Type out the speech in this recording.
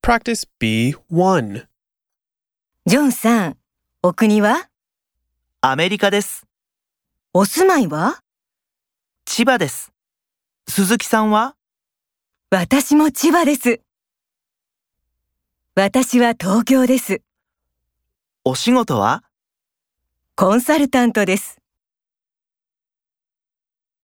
Practice B1. ジョンさん、お国は？ アメリカです。 お住まいは？ 千葉です。鈴木さんは？ 私も千葉です。私は東京です。 お仕事は？ コンサルタントです。